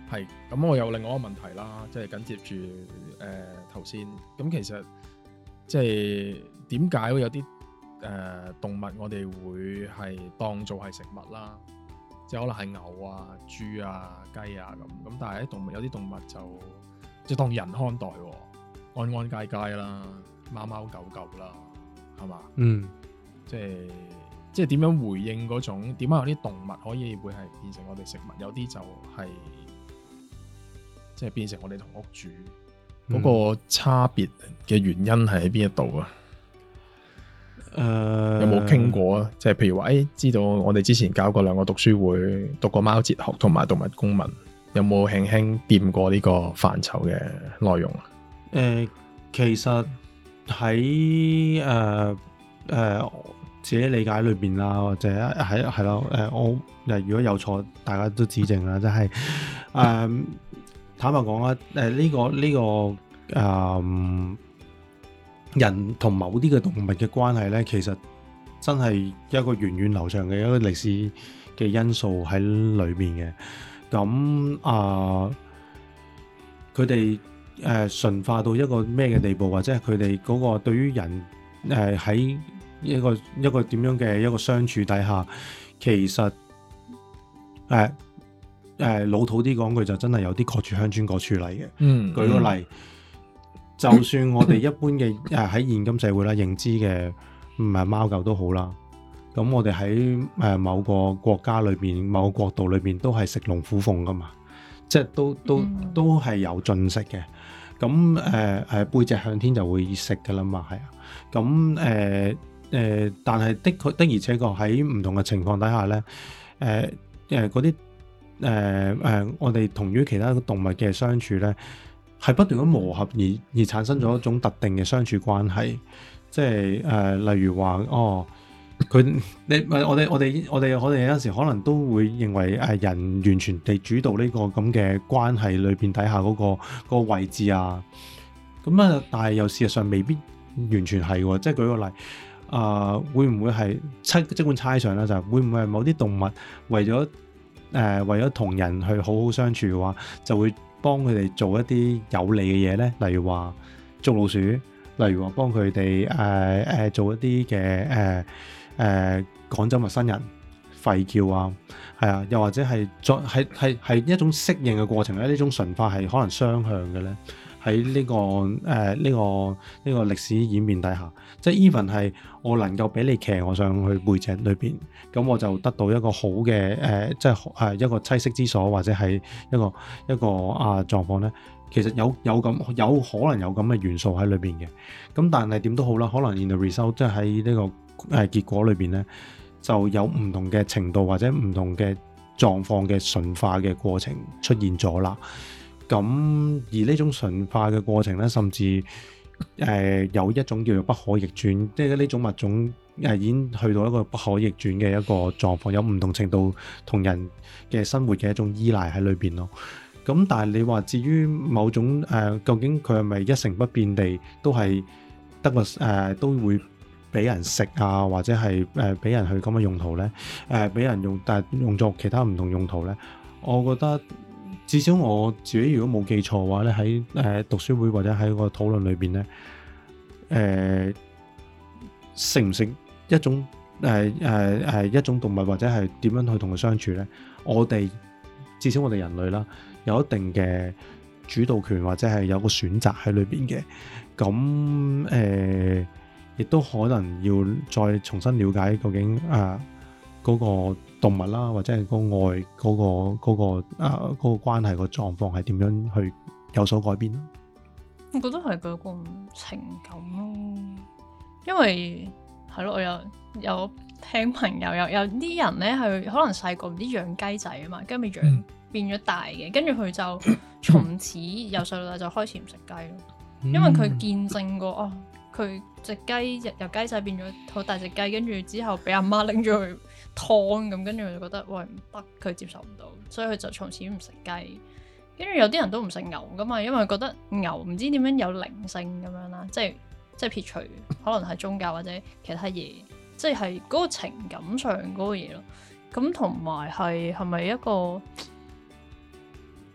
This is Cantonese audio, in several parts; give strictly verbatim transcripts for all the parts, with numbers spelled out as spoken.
係，咁我有另外一個問題啦，即係緊接住誒頭先，咁其實即係點解會有啲誒、呃、動物我哋會係當做係食物啦？即係可能係牛啊、豬啊、雞啊咁，咁但係啲動物有啲動物就即係當人看待，安安佳佳啦，貓貓狗狗啦，係嘛？嗯，即係即係點樣回應嗰種？點解有啲動物可以會係變成我哋食物？有啲就係、是、即係變成我哋同屋主嗰、嗯、個差別嘅原因係喺邊一度啊？誒、呃，有冇傾過啊？即係譬如話，誒、哎，知道我哋之前搞過兩個讀書會，讀過貓哲學同埋動物公民，有冇輕輕掂過呢個範疇嘅內容啊？ 誒、呃，其實喺誒誒自己理解裏邊啦，或者喺係咯，誒、呃，我誒如果有錯，大家都指正啦。即係誒，坦白講啊，誒、呃，呢、這個呢、這個誒。呃人同某啲嘅動物嘅關係呢，其實真係一個源遠流長嘅一個歷史嘅因素喺裏面嘅。咁啊，佢哋誒馴化到一個咩嘅地步，或者係佢哋嗰個對於人誒喺、呃、一個一個點樣嘅一個相處底下，其實誒誒、呃呃、老土啲講句就真係有啲各處鄉村各處例嘅。嗯，舉個例。就算我哋一般嘅誒喺現今社會啦，認知嘅唔係貓狗都好啦，咁我哋喺誒某個國家裏邊、某個國度裏邊都係食龍虎鳳噶嘛，即係都都都係有進食嘅。咁誒誒背脊向天就會食噶啦嘛，係啊。咁誒誒，但係的確的而且確喺唔同嘅情況底下咧，誒誒嗰啲誒誒，我哋同於其他動物嘅相處咧，係不斷咁磨合而而產生咗一種特定嘅相處關係，即係誒、呃，例如話哦，佢你我哋我哋我哋我哋有陣時可能都會認為誒人完全地主導呢個咁嘅關係裏邊底下嗰、嗰個嗰個位置啊，咁啊，但係又事實上未必完全係喎，即係舉個例，啊、呃，會唔會係猜即管猜想啦，就係會唔會係某啲動物為咗誒、呃、為咗同人去好好相處嘅話，就會幫佢哋做一啲有利嘅嘢咧，例如話捉老鼠，例如話幫佢哋誒誒做一啲嘅誒誒趕走陌生人、吠叫啊，係啊，又或者係作係係係一種適應嘅過程咧，呢種馴化係可能雙向嘅咧。喺呢、這個誒呢、呃這個呢、這個歷史演變底下，即係 even 係我能夠俾你騎我上去背脊裏邊，咁我就得到一個好嘅誒、呃，即係誒一個棲息之所，或者係一個一個啊狀況咧。其實有有咁有可能有咁嘅元素喺裏邊嘅。咁但係點都好啦，可能 in the result 即係喺呢個誒、呃、結果裏邊咧，就有唔同嘅程度或者唔同嘅狀況嘅馴化嘅過程出現咗啦。咁而呢種馴化嘅過程咧，甚至誒、呃、有一種叫做不可逆轉，即係呢種物種誒已經去到一個不可逆轉嘅一個狀況，有唔同程度同人嘅生活嘅一種依賴喺裏邊咯。咁但係你話至於某種誒、呃，究竟佢係咪一成不變地都係得個誒都會俾人食啊，或者係誒俾人去咁嘅用途咧？誒、呃、俾人用，但係用作其他唔同用途咧？我覺得。至少我自己如果冇記錯嘅話咧，喺誒讀書會或者喺個討論裏邊咧，誒食唔食一種誒誒誒一種動物或者係點樣去同佢相處咧？我哋至少我哋人類啦，有一定嘅主導權或者係有個選擇喺裏邊嘅。咁誒亦都可能要再重新了解究竟啊嗰個動物啦，或者係個愛嗰個嗰個啊嗰個關係個狀況係點樣去有所改變？ 我覺得係嗰個情感咯，因為係咯，我有有聽朋友有有啲人咧係可能細個唔知養雞仔啊嘛，跟住養、嗯、變咗大嘅，跟住佢就從此由細到大就開始唔食雞咯，嗯、因為佢見證過哦，佢隻雞由雞仔變咗好大隻雞，跟住之後俾阿媽拎咗去湯咁，跟住佢就覺得喂唔得，佢接受唔到，所以佢就從此唔食雞。跟住有啲人都唔食牛噶嘛，因為覺得牛唔知點樣有靈性咁樣啦，即係即係撇除可能係宗教或者其他嘢，即係嗰個情感上嗰個嘢咯。咁同埋係係咪一個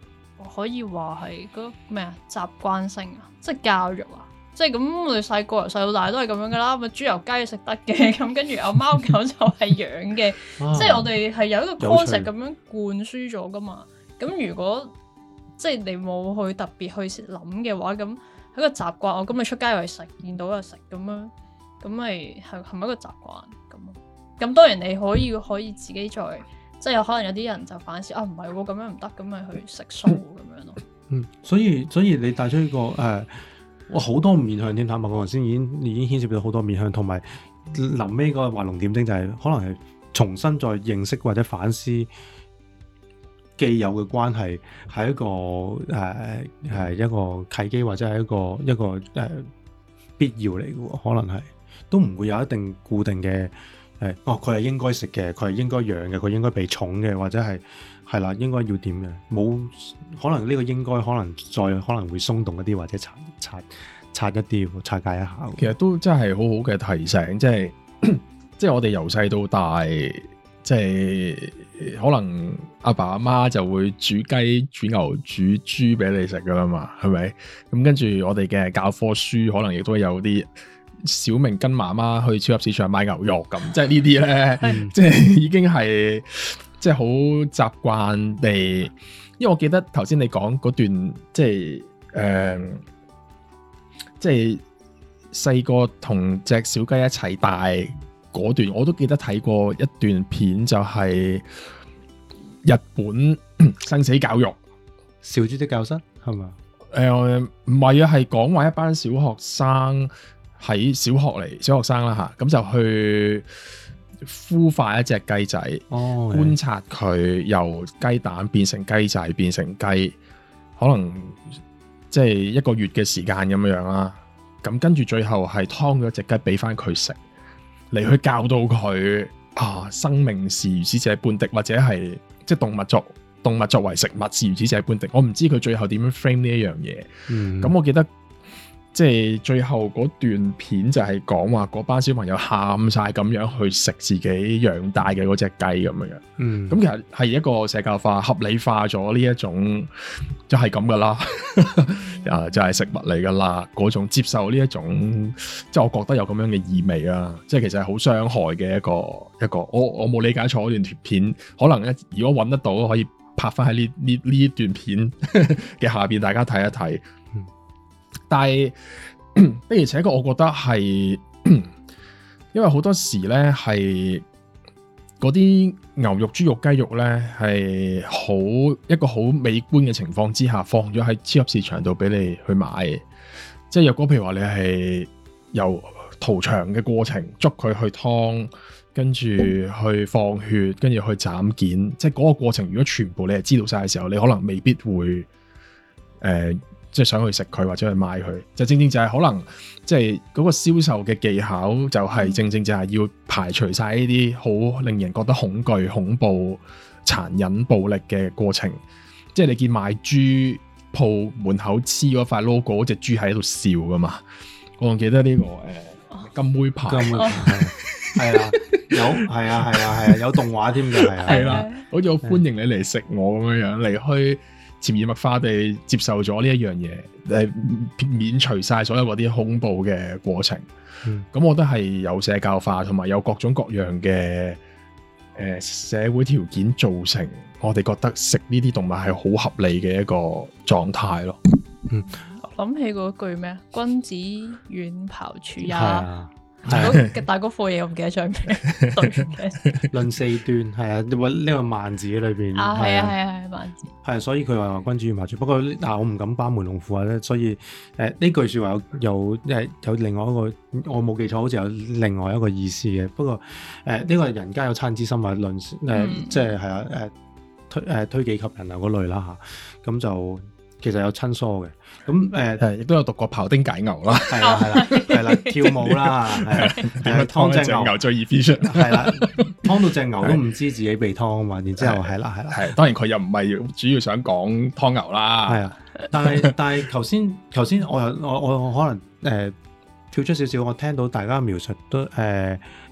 可以話係嗰咩啊習慣性啊，即係教育啊。即係咁，我哋細個由細到大都係咁樣噶啦。咪豬油雞食得嘅，咁跟住有貓狗就係養嘅。啊、即係我哋係有一個 concept 咁樣灌輸咗噶嘛。咁如果即係你冇去特別去諗嘅話，咁係一個習慣。我咁你出街又係食，見到又食咁樣，咁咪係係咪一個習慣咁？咁當然你可以可以自己再即係有可能有啲人就反思啊，唔係喎，咁樣唔得，咁咪去食素咁樣咯。 嗯，所以所以你帶出呢個誒。呃我好多面向添，坦白講，頭先已經已經牽涉到好多面向，同埋臨尾嗰個畫龍點睛就係、是、可能係重新再認識或者反思既有嘅關係，係一個誒係、呃、一個契機或者係一個一個誒、呃、必要嚟嘅喎，可能係都唔會有一定固定嘅誒、呃，哦佢係應該食嘅，佢係應該養嘅，佢應該被寵嘅，或者係。係啦，應該要點嘅？冇可能呢個應該可能再可能會鬆動一啲，或者擦擦擦一啲，拆解一下。 其實都真係好好嘅提醒，即係即係我哋由細到大，即係可能阿爸阿媽就會煮雞、煮牛、煮豬俾你食噶啦嘛，係咪？咁跟住我哋嘅教科書可能亦都有啲小明跟媽媽去超級市場買牛肉咁，即係呢啲咧，嗯、即係已經係。即係好習慣地，因為我記得頭先你講嗰段，即係誒、呃，即係細個同隻小雞一齊大嗰段，我都記得睇過一段片，就係日本生死教育小豬的教室係嘛？ 誒唔係啊，係講話一班小學生喺小學嚟，小學生啦嚇，咁就去孵化一隻雞仔，哦、觀察佢由雞蛋變成雞仔變成雞，可能即係一個月嘅時間咁樣樣啦。咁跟住最後係劏咗隻雞俾翻佢食，嚟去教導佢啊，生命是如此這般的，或者係即係動物作動物作為食物是如此這般的。我唔知佢最後點樣 frame 呢一樣嘢。咁、嗯、我記得。即係最後嗰段片就係講話嗰班小朋友喊晒咁樣去食自己養大嘅嗰隻雞咁樣，嗯，咁其實係一個社交化、合理化咗呢一種就係咁噶啦，啊就係食物嚟噶啦嗰種接受呢一種，即係我覺得有咁樣嘅意味啊，即係其實係好傷害嘅一個一個，我我冇理解錯嗰段片，可能咧如果揾得到可以拍翻喺呢呢呢段片嘅下邊，大家睇一睇。但係的而且確，我覺得係，因為好多時咧係嗰啲牛肉、豬肉、雞肉咧係好一個好美觀嘅情況之下，放咗喺超級市場度俾你去買。即係若果譬如話你係由屠場嘅過程捉佢去劏，跟住去放血，跟住去斬件，即係嗰個過程，如果全部你係知道晒嘅時候，你可能未必會誒。呃即係想去食佢或者去買佢，就正正就係可能即係嗰個銷售嘅技巧，就係正正就係要排除晒呢啲好令人覺得恐懼、恐怖、殘忍、暴力嘅過程。即係你見賣豬鋪門口黐嗰塊 logo，嗰隻豬喺度笑噶嘛？我仲記得呢、這個誒、呃、金妹牌，金妹牌係啊，有係啊係啊係啊，有動畫添嘅係啊，係啦，好似好歡迎你嚟食我咁樣樣嚟去。潛移默化地接受咗呢一樣嘢，誒免除晒所有嗰啲恐怖嘅過程。咁、嗯、我覺得係有社交化，同埋有各種各樣嘅誒、呃、社會條件造成，我哋覺得食呢啲動物係好合理嘅一個狀態咯。嗯， 諗起嗰句咩啊？君子遠庖廚也。係大嗰課嘢我唔記得咗咩，對嘅。論四端係啊，呢個萬字裏邊啊，係啊係啊係萬字。 係，所以佢話君子遠庖廚。不過嗱，我唔敢班門弄斧啊，所以誒呢、呃、句説話有有誒有另外一個，我冇記錯，好似有另外一個意思嘅。不過誒呢、呃這個人家有惻之心啊，論誒、呃嗯、即係係啊誒推誒、呃、推己及人啊嗰類啦嚇，咁就。其實有親疏嘅，咁誒係亦都有讀過庖丁解牛啦，係啦係啦係啦，跳舞啦，係啊，劏隻牛最易 fit 出，係啦，劏到隻牛都唔知自己被劏啊嘛，然之後係啦係啦，係當然佢又唔係主要想講劏牛啦，係啊，但係但係頭先頭先我又我我可能誒、呃、跳出少少，我聽到大家描述都誒、呃、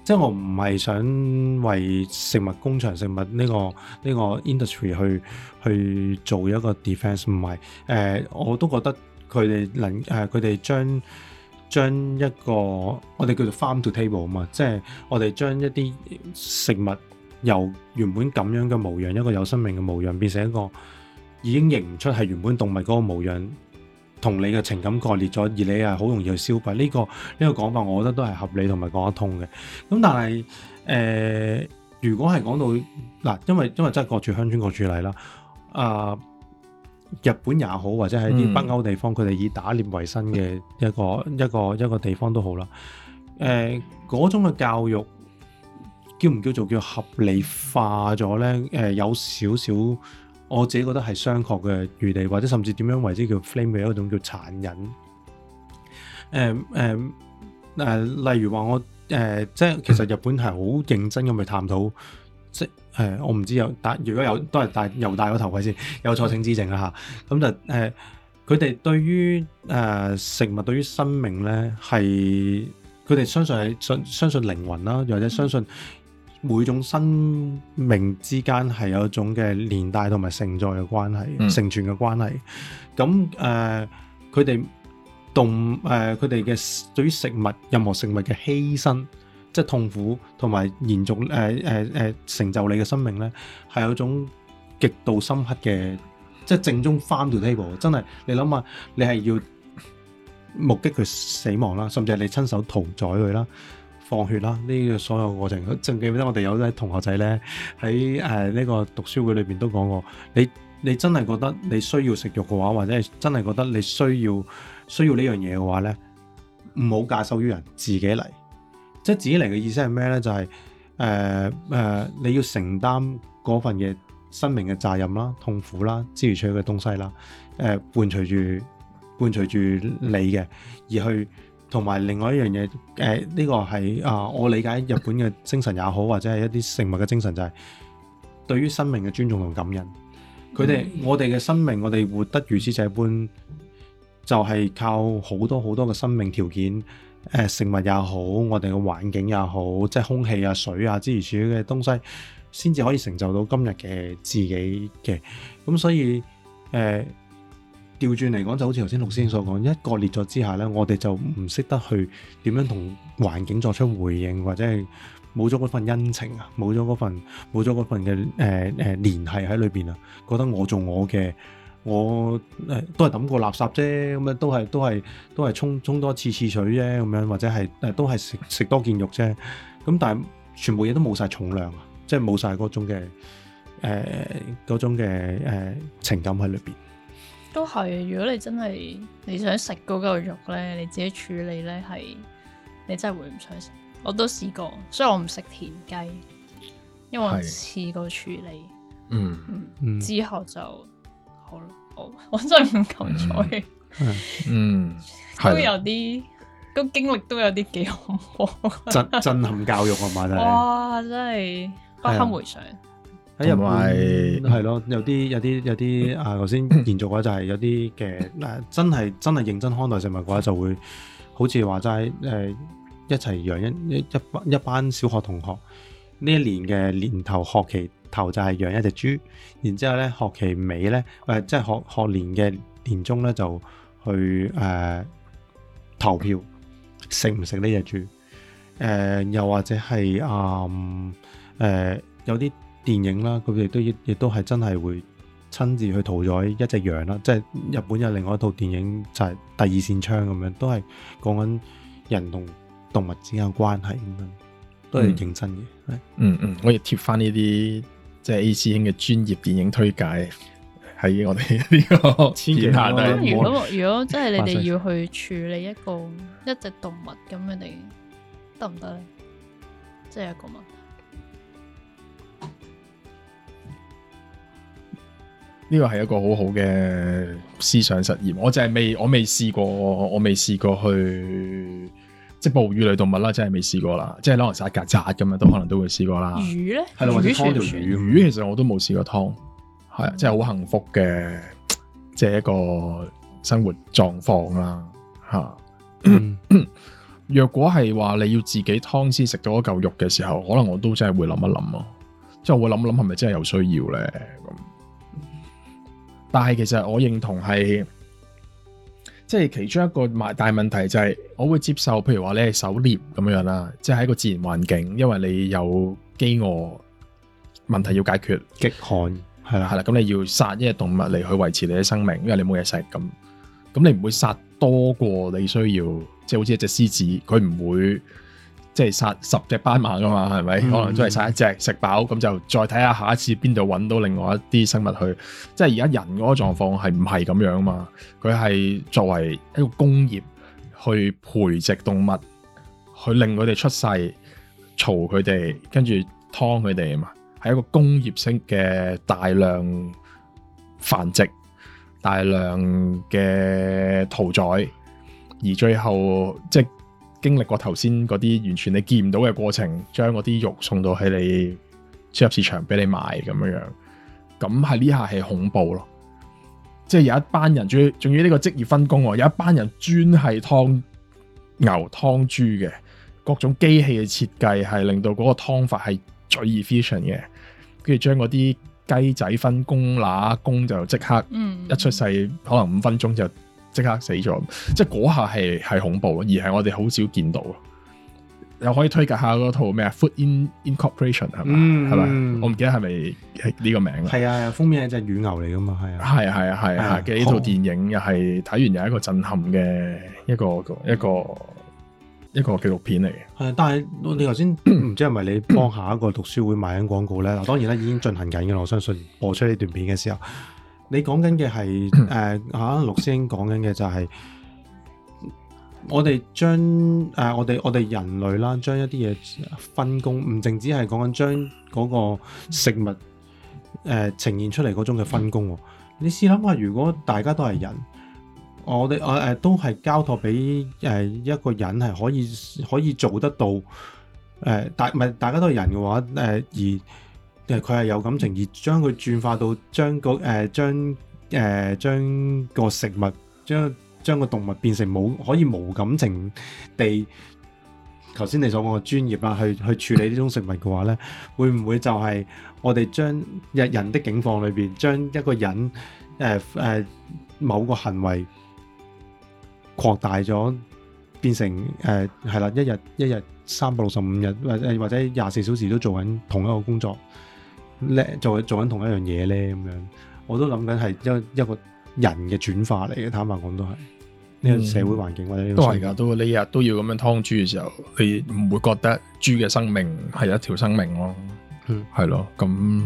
即係我唔係想為食物工場、食物呢、呢個呢、呢個 industry 去去做一個 defense， 唔係誒，我都覺得佢哋能誒，佢哋將將一個我哋叫做 farm to table 啊嘛，即係我哋將一啲食物由原本咁樣嘅模樣，一個有生命嘅模樣，變成一個已經認唔出係原本動物嗰個模樣，同你嘅情感割裂咗，而你係好容易去消費呢、這個呢、這個講法，我覺得都係合理同埋講得通嘅。咁但係誒、呃，如果係講到嗱，因為因為真係各處鄉村各處例啦，啊、呃，日本也好，或者係啲北歐地方，佢哋、嗯、以打獵為生嘅一個一個一個地方都好啦。誒、呃，嗰種嘅教育叫唔叫做叫合理化咗咧？誒、呃，有少少。我自己覺得係商榷嘅餘地，或者甚至點樣為之叫 flame 嘅一種叫殘忍。誒誒誒，例如話我誒、呃，即係其實日本係好認真咁去探討，即係誒、呃，我唔知有戴，如果有都係戴又戴個頭盔先，有錯請指正啦嚇。咁就誒，佢、呃、哋對於誒、呃、食物對於生命咧，係佢哋相信係信相信靈魂啦，或者相信。每種生命之間係有一種嘅連帶同埋承載嘅關係，嗯、承傳嘅關係。咁誒，佢、呃、哋動誒佢哋嘅對於食物任何食物嘅犧牲，即係痛苦同埋延續誒誒誒成就你嘅生命咧，係有一種極度深刻嘅，即係正宗 farm to table。真係你諗下，你係要目擊佢死亡啦，甚至係你親手屠宰佢啦。放血啦！呢、這個所有過程，仲記唔記得我哋有啲同學仔咧喺誒呢個讀書會裏邊都講過，你你真係覺得你需要食肉嘅話，或者係真係覺得你需要需要呢樣嘢嘅話咧，唔好假手於人，自己嚟。即係自己嚟嘅意思係咩咧？就係誒誒，你要承擔嗰份嘅生命嘅責任啦、痛苦啦、諸如此類嘅東西啦，誒、呃、伴隨住伴隨住你嘅而去。同埋另外一樣嘢，誒、呃、呢、這個係啊、呃，我理解日本嘅精神也好，或者係一啲食物嘅精神，就係對於生命嘅尊重同感恩。佢哋、嗯、我哋嘅生命，我哋活得如此這般，就係、是、靠好多好多嘅生命條件，誒、呃、食物也好，我哋嘅環境也好，即係空氣啊、水啊諸如此類嘅東西，先至可以成就到今日嘅自己嘅。咁所以誒。呃調轉嚟講，就好似頭先陸先生所講，一割裂咗之下咧，我哋就唔識得去點樣同環境作出回應，或者係冇咗嗰份恩情啊，冇咗嗰份冇咗嗰份嘅誒誒聯繫喺裏邊啊，覺得我做我嘅，我誒、呃、都係抌個垃圾啫，咁樣都係都係都係沖沖多次次水啫，咁樣或者係誒、呃、都係食食多件肉啫，咁但係全部嘢都冇晒重量啊，即係冇晒嗰種嘅誒嗰種嘅誒、呃、情感喺裏邊。 都係，如果你真係你想食嗰嚿肉咧，你自己處理咧係，你真係會唔想食。我都試過，所以我唔食田雞，因為我試過處理。嗯嗯，之後就好啦，我我真係唔敢再。 嗯， 都有啲，個經歷都有啲幾恐怖。 震震撼教育啊嘛，真係。哇！ 真係不堪回想。 喺入邊係咯，有啲有啲有啲啊！頭先延續嘅話就係有啲嘅誒，真係真係認真看待食物嘅話，就會好似話齋誒，一齊養一一一班一班小學同學呢一年嘅年頭學期頭就係養一隻豬，然之後咧學期尾咧誒，即係學學年嘅年中咧就去誒、呃、投票食唔食呢隻豬誒、呃，又或者係啊誒有啲。電影啦，佢哋都亦亦都係真係會親自去屠宰一隻羊啦，即係日本有另外一套電影就係、是、第二扇窗咁樣，都係講緊人同動物之間嘅關係咁樣，都係認真嘅。嗯嗯，嗯，我亦貼翻呢啲即係 A 師兄嘅專業電影推介喺我哋呢個片下底。 如果如果真係你哋要去處理一個一隻動物咁，你哋得唔得咧？即係一個問題。 呢個係一個好好嘅思想實驗，我就係未，我未試過，我未試過去即係哺乳類動物啦，真係未試過啦，即係可能殺曱甴咁樣都可能都會試過啦。 魚咧， 係啦，或者湯條魚，魚其實我都冇試過湯，係啊，即係好幸福嘅，即係一個生活狀況啦，吓。魚若果係話你要自己劏先食到一嚿肉嘅時候，可能我都真係會諗一諗咯，即係我會諗一諗係咪真係有需要咧咁。但係其實我認同係，即係其中一個大問題就係，我會接受，譬如話你係狩獵咁樣啦，即係喺一個自然環境，因為你有飢餓問題要解決， 極寒係啦， 係啦，咁你要殺一隻動物嚟去維持你嘅生命，因為你冇嘢食咁，咁你唔會殺多過你需要。即係好似一隻獅子，佢唔會即係殺十隻斑馬噶嘛，係咪？嗯、可能都係殺一隻食飽，咁就再睇下下一次邊度揾到另外一啲生物去。即係而家人嗰個狀況係唔係咁樣嘛？佢係作為一個工業去培植動物，去令佢哋出世，嘈佢哋，跟住劏佢哋啊嘛，係一個工業式嘅大量繁殖、大量嘅屠宰。而最後即係經歷過頭先嗰啲完全你見唔到嘅過程，將嗰啲肉送到喺你超級市場俾你賣咁樣樣，咁係呢下係恐怖咯。即係有一班人，仲要仲要呢個職業分工喎，有一班人專係劏牛劏豬嘅，各種機器嘅設計係令到嗰個劏法係最 efficient 嘅，跟住將嗰啲雞仔分公乸公就即刻一出世，嗯、可能五分鐘就即刻死咗，即係嗰下係係恐怖，而係我哋好少見到。又可以推介下嗰套咩啊 ？Food in Incorporation 係嘛？係咪、嗯？我唔記得係咪係呢個名啦。係啊，封面係隻乳牛嚟噶嘛？係啊， 係啊，係啊，係啊嘅呢套電影又係睇完又係一個震撼嘅一個一個一個紀錄片嚟嘅。係，但係你頭先唔知係咪你幫下一個讀書會賣緊廣告咧？嗱，當然啦，已經進行緊嘅。我相信播出呢段片嘅時候。你講緊嘅係誒嚇，陸師兄講緊嘅就係我哋將誒、呃、我哋我哋人類啦，將一啲嘢分工，唔淨止係講緊將嗰個食物誒、呃、呈現出嚟嗰種嘅分工。你試諗下，如果大家都係人，我哋我誒都係交託俾誒一個人係可以可以做得到誒、呃、大唔係大家都係人嘅話誒、呃、而。誒佢係有感情，而將佢轉化到將個誒將誒將個食物將將個動物變成冇可以無感情地，頭先你所講嘅專業啦，去去處理呢種食物嘅話咧，會唔會就係我哋將日人的境況裏邊，將一個人誒誒、呃呃、某個行為擴大咗，變成誒係啦，一日一日三百六十五日或者或者廿四小時都做緊同一個工作。咧做做緊同一樣嘢咧，咁樣我都諗緊係一一個人嘅轉化嚟嘅。坦白講都係呢個社會環境、嗯、或者呢個都係㗎。都你日日都要咁樣劏豬嘅時候，你唔會覺得豬嘅生命係一條生命咯？嗯，係咯。咁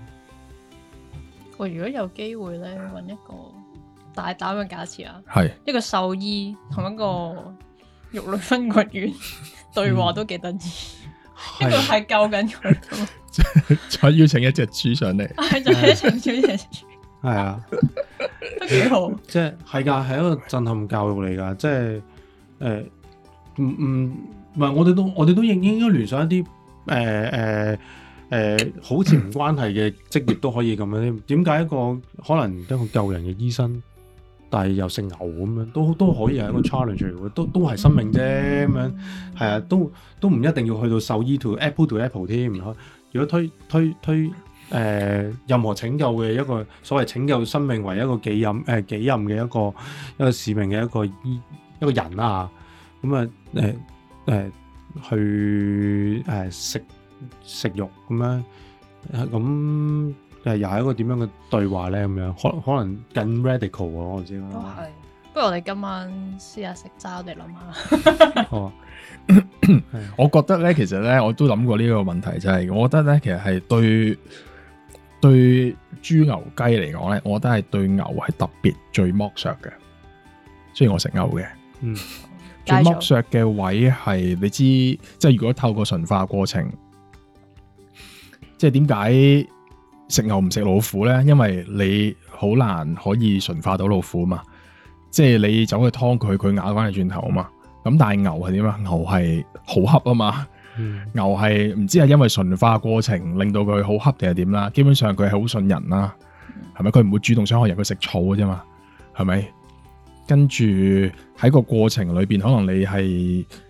我如果有機會咧，揾一個大膽嘅假設啊， 係一個獸醫同一個肉類分割員對話都幾得意。一個係救緊佢， 再邀請一隻豬上嚟， 係再邀請一隻豬， 係啊， 都幾好。即係係噶，係一個震撼教育嚟噶。即係誒，唔唔唔係，我哋都我哋都應應該聯想一啲誒誒誒，好似唔關係嘅職業都可以咁樣。點解一個可能一個救人嘅醫生？但係又食牛咁樣，都都可以係一個 challenge 嚟嘅，都都係生命啫咁樣，係啊，都都唔一定要去到獸醫 to apple to apple 添。如果推推推誒、呃、任何拯救嘅一個所謂拯救生命為一個己任誒己任嘅一個一個使命嘅一個醫一個人啊，咁啊誒誒去誒、呃、食食肉咁樣咁。誒又係一個點樣嘅對話咧？咁樣可可能更 radical 喎，我知啦。都係， 不如我哋今晚試下食齋，我哋諗下。 好啊。 我覺得咧，其實咧，我都諗過呢個問題，就係、是、我覺得咧，其實係對對豬牛雞嚟講咧，我覺得係對牛係特別最剝削嘅。雖然我食牛嘅，嗯，最剝削嘅位係你知，即係如果透過馴化過程，即係點解？食牛唔食老虎咧，因為你好難可以馴化到老虎嘛，即係你走去劏佢，佢咬翻你轉頭啊嘛。咁但係牛係點啊？牛係好恰啊嘛，嗯、牛係唔知係因為馴化過程令到佢好恰定係點啦。基本上佢係好信人啦，係咪？佢唔會主動傷害人，佢食草嘅啫嘛，係咪？跟住喺個過程裏邊，可能你係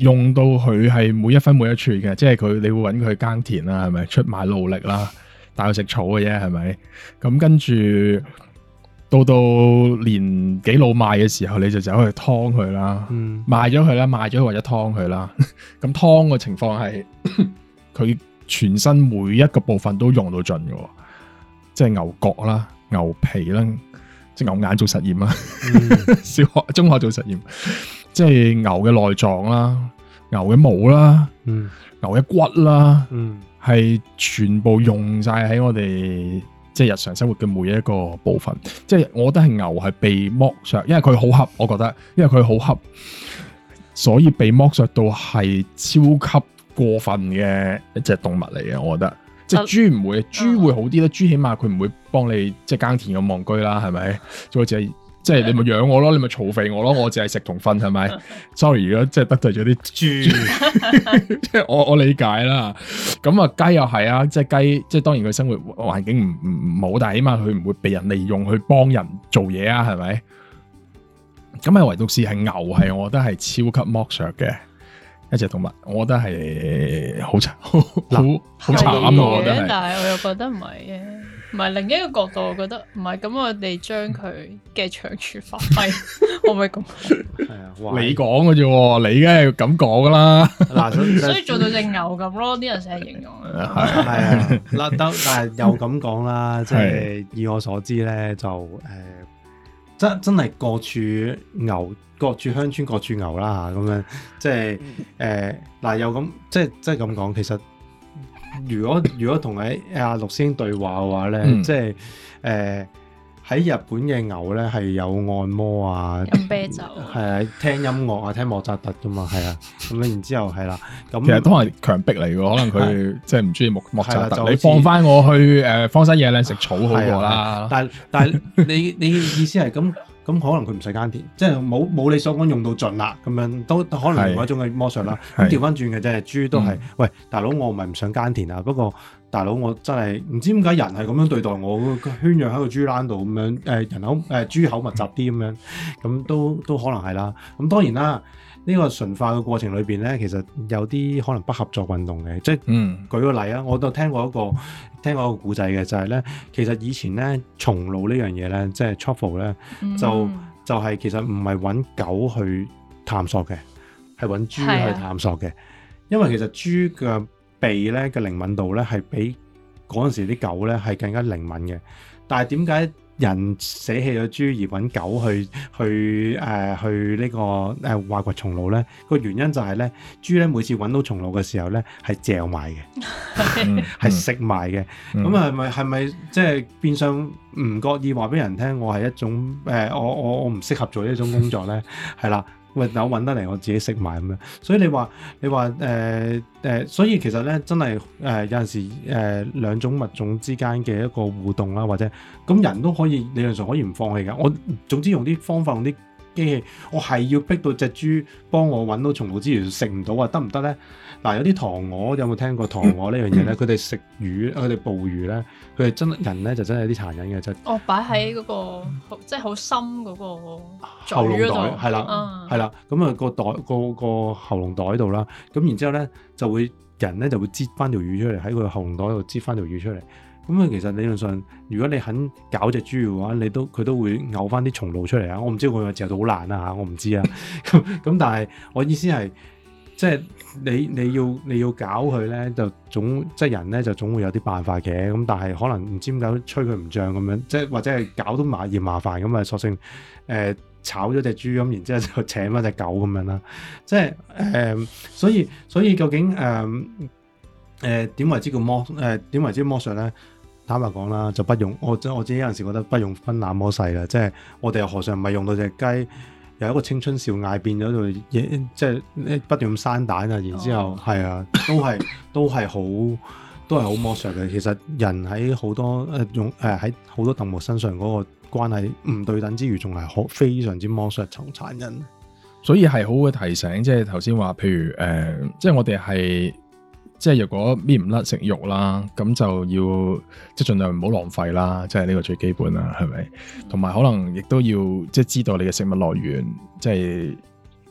用到佢係每一分每一寸嘅，即係佢你會揾佢耕田啦，係咪出賣勞力啦，帶佢食草嘅啫，係咪？咁跟住到到年紀老邁嘅時候，你就走去劏佢啦，嗯、賣咗佢啦，賣咗佢或者劏佢啦。咁劏嘅情況係佢全身每一個部分都用到盡嘅，即係牛角啦、牛皮啦，即係牛眼做實驗啦，嗯、小學、中學做實驗。即係牛嘅內臟啦，牛嘅毛啦，嗯、牛嘅骨啦，係、嗯、全部用晒喺我哋即係日常生活嘅每一個部分。即係我覺得係牛係被剝削，因為佢好恰，我覺得，因為佢好恰，所以被剝削到係超級過分嘅一隻動物嚟嘅。我覺得，即係豬唔會，豬會好啲啦。豬起碼佢唔會幫你即係耕田咁戇居啦，係咪？就好似係。即係你咪養我咯，你咪嘈肥我咯，我淨係食同瞓係咪 ？Sorry，如果即係得罪咗啲豬，即係我我理解啦。咁啊雞又係啊，即係雞，即係當然佢生活環境唔唔唔好，但係起碼佢唔會被人利用去幫人做嘢啊，係咪？咁啊唯獨是係牛係，我覺得係超級剝削嘅一隻動物，我覺得係好慘，好好慘啊！我覺得係， 但係我又覺得唔係嘅。唔係另一個角度，我覺得唔係咁，我哋將佢嘅長處發揮，可唔可以咁？係啊， 你講嘅啫，你梗係咁講噶啦。 嗱，所以做到隻牛咁咯，啲人成日形容。係啊，嗱，但但係又咁講啦，即係以我所知咧，就誒，真真係各處牛，各處鄉村各處牛啦嚇，咁樣即係誒嗱，又咁即係即係咁講，其實。如果如果同喺阿陸師兄對話嘅話咧，嗯、即係誒喺日本嘅牛咧係有按摩啊， 飲啤酒， 係啊，聽音樂啊，聽莫扎特噶嘛，係啊，咁然之後係啦，咁其實都係強迫嚟嘅，可能佢即係唔中意莫莫扎特，你放翻我去誒荒山野嶺食草好過啦。但係但係你你意思係咁？咁可能佢唔使耕田，即係冇冇你所講用到盡啦，咁樣都可能另外一種嘅剝削啦。咁調翻轉嘅啫，豬都係，嗯、喂大佬，我唔係唔想耕田啊，不過大佬我真係唔知點解人係咁樣對待我，圈養喺個豬欄度咁樣，誒人口誒、呃、豬口密集啲咁樣，咁都都可能係啦。咁當然啦。呢個馴化嘅過程裏邊咧，其實有啲可能不合作運動嘅，即係、嗯、舉個例啊，我都聽過一個聽過一個故仔嘅，就係、是、咧，其實以前咧松露呢樣嘢咧，即係 truffle 咧，就就係、是、其實唔係揾狗去探索嘅，係揾豬去探索嘅，啊、因為其實豬嘅鼻咧嘅靈敏度咧係比嗰陣時啲狗咧係更加靈敏嘅，但係點解人捨棄咗豬而揾狗去去誒、呃、去呢、這個誒挖掘松露咧？個原因就係咧，豬咧每次揾到松露嘅時候咧係嚼埋嘅，係食埋嘅。咁係咪係咪即係變相唔覺意話俾人聽，我係一種誒、呃、我我我唔適合做呢種工作咧？係啦。喂，我揾得嚟，我自己食埋咁樣，所以你話你話誒誒，所以其實咧真係誒、呃、有陣時誒、呃、兩種物種之間嘅一個互動啦，或者咁人都可以理論上可以唔放棄㗎。我總之用啲方法用啲機器，我係要逼到隻豬幫我揾到松露之餘食唔到啊，得唔得咧？嗱，有啲塘鵝有冇聽過塘鵝呢樣嘢咧？佢哋食魚，佢哋捕魚咧，佢哋真人咧就真係有啲殘忍嘅，就哦擺喺嗰個即係好深嗰個喉嚨袋，係啦，係啦，咁啊個袋個個喉嚨袋度啦，咁然之後咧就會人咧就會擠翻條魚出嚟喺佢喉嚨袋度擠翻條魚出嚟。咁啊，其實理論上，如果你肯搞隻豬嘅話，你都佢都會嘔翻啲松露出嚟啊！我唔知佢個字到好難啊嚇，我唔知啊。咁咁，但係我意思係，即係你你要你要搞佢咧，就總即係人咧就總會有啲辦法嘅。咁但係可能唔知點解吹佢唔脹咁樣，即係或者係搞到麻嫌麻煩咁啊，索性誒、呃、炒咗隻豬咁，然之後就請翻隻狗咁樣啦。即係誒、呃，所以所以究竟誒誒點為之叫剝誒點為之剝削咧？坦白講啦，就不用我我自己有陣時覺得不用分那麼細啦，即係我哋又何嘗唔係用到隻雞由一個青春少艾變咗做嘢，即係不斷咁生蛋啊，然之後係、哦、啊，都係都係好都係好剝削嘅。其實人喺好多誒用誒喺好多動物身上嗰個關係唔對等之餘，仲係好非常之剝削同殘忍。 所以係好嘅提醒，即係頭先話，譬如誒、呃，即係我哋係。即係如果搣唔甩食肉啦，咁就要即係盡量唔好浪費啦，即係呢個最基本啦，係咪？同埋可能亦都要即係知道你嘅食物來源，即係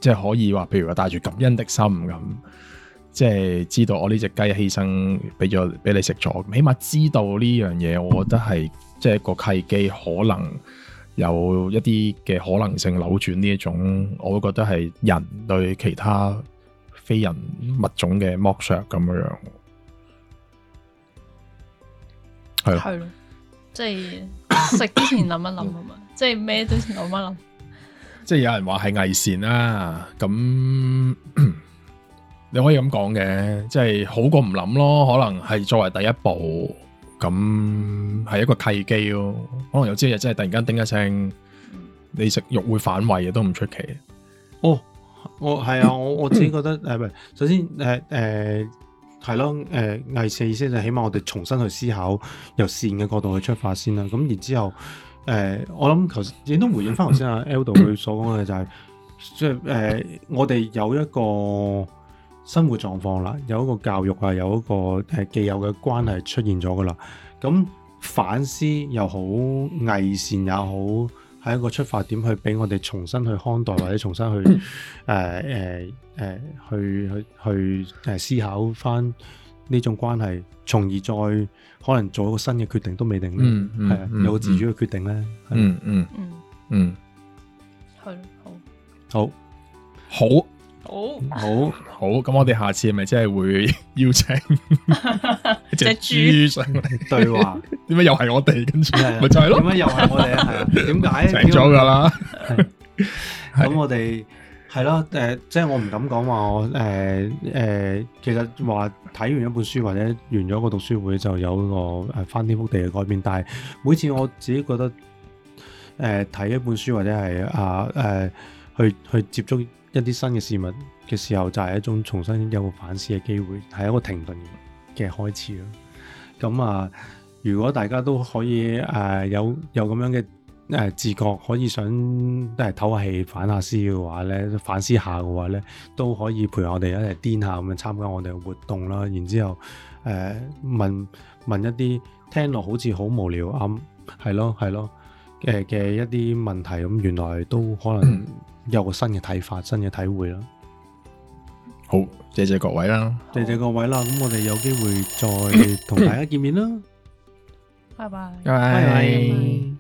即係可以話，譬如話帶住感恩的心咁，即係知道我呢隻雞犧牲俾咗俾你食咗，起碼知道呢樣嘢，我覺得係即係一個契機，可能有一啲嘅可能性扭轉呢一種，我會覺得係人對其他非人物種嘅剝削咁樣樣，係咯， 係咯，即係食之前諗一諗啊嘛，即係咩都諗一諗。 即係有人話係偽善啦，咁你可以咁講嘅，即係好過唔諗咯。可能係作為第一步，咁係一個契機咯。可能有朝一日真係突然間叮一聲，你食肉會反胃嘅都唔出奇。 哦，我係啊，我我自己覺得誒，唔係，首先誒誒係咯，誒偽善意思就起碼我哋重新去思考，由善嘅角度去出發先啦。咁然之後。誒、呃，我諗頭先亦都回應翻頭先阿 Eldo 佢所講嘅就係、是，即係誒，我哋有一個生活狀況啦，有一個教育啊，有一個誒既有嘅關係出現咗噶啦。咁反思又好，偽善也好，係一個出發點，去俾我哋重新去看待，或者重新去誒誒誒去去去誒思考翻呢種關係，從而再可能做一個新嘅決定都未定咧，係啊，有個自主嘅決定咧， 嗯嗯嗯嗯， 係好， 好，好， 好， 好，好，咁我哋下次係咪真係會邀請隻豬上嚟對話？點解又係我哋？跟住咪就係咯？ 點解又係我哋啊？係啊？點解請咗噶啦？ 咁我哋。係咯，誒、呃，即係我唔敢講話我誒誒、呃呃，其實話睇完一本書或者完咗個讀書會就有個誒翻天覆地嘅改變，但係每次我自己覺得誒睇、呃、一本書或者係啊誒去去接觸一啲新嘅事物嘅時候，就係、是、一種重新有個反思嘅機會，係一個停頓嘅開始咯。咁啊，如果大家都可以誒、呃、有有咁樣嘅。誒自覺可以想都係唞下氣反下思嘅話咧，反思下嘅話咧，都可以陪我哋一齊癲下咁樣參加我哋嘅活動啦。然之後誒、呃、問問一啲聽落好似好無聊啱，係咯係咯誒嘅一啲問題，咁原來都可能有個新嘅睇法、新嘅體會啦。 好，謝謝各位啦， 謝謝各位啦。咁我哋有機會再同大家見面啦。 拜拜， 拜拜。